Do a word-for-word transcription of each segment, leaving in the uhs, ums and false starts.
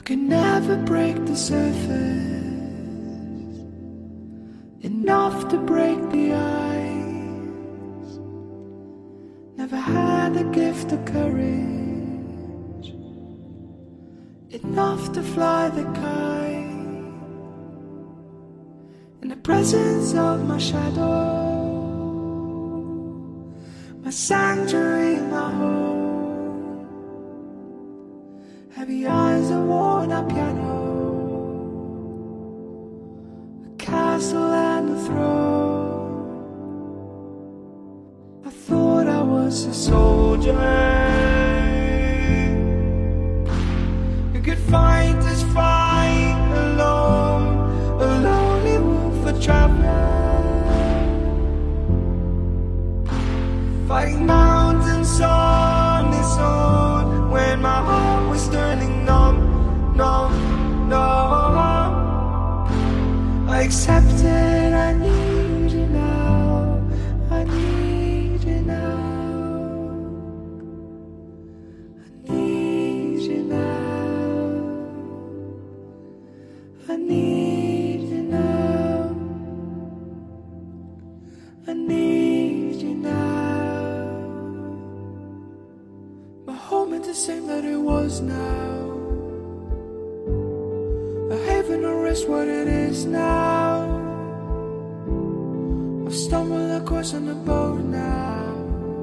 can never break the surface enough to break the ice. Never had the gift of courage enough to fly the kite. In the presence of my shadow, my sanctuary, my home, heavy eyes, a worn out piano, a castle and a throne. I thought I was a soldier who could fight this fight alone, a lonely wolf, a traveler, fighting mountains on his own, when my heart was turning numb, numb, numb. I accepted I need you now, I need you now, I need you now, I need you now, I need you now. My home ain't the same that it was now. A haven or rest, what it is now. I've stumbled across on a boat now.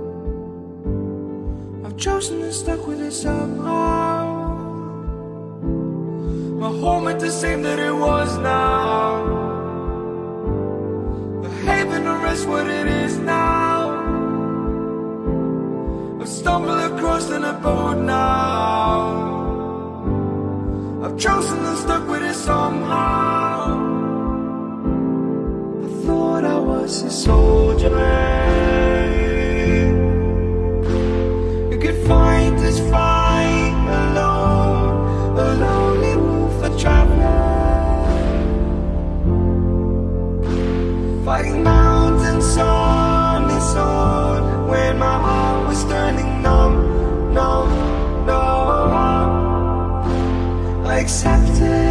I've chosen and stuck with it somehow. My home ain't the same that it was now. A haven or rest, what it is now. I've stumbled across on a boat now. I've chosen and stuck with it somehow. I thought I was a soldier who could fight this fight alone, a lonely wolf, a traveler, fighting mountains on his own, when my heart was turning numb, numb, numb. I accepted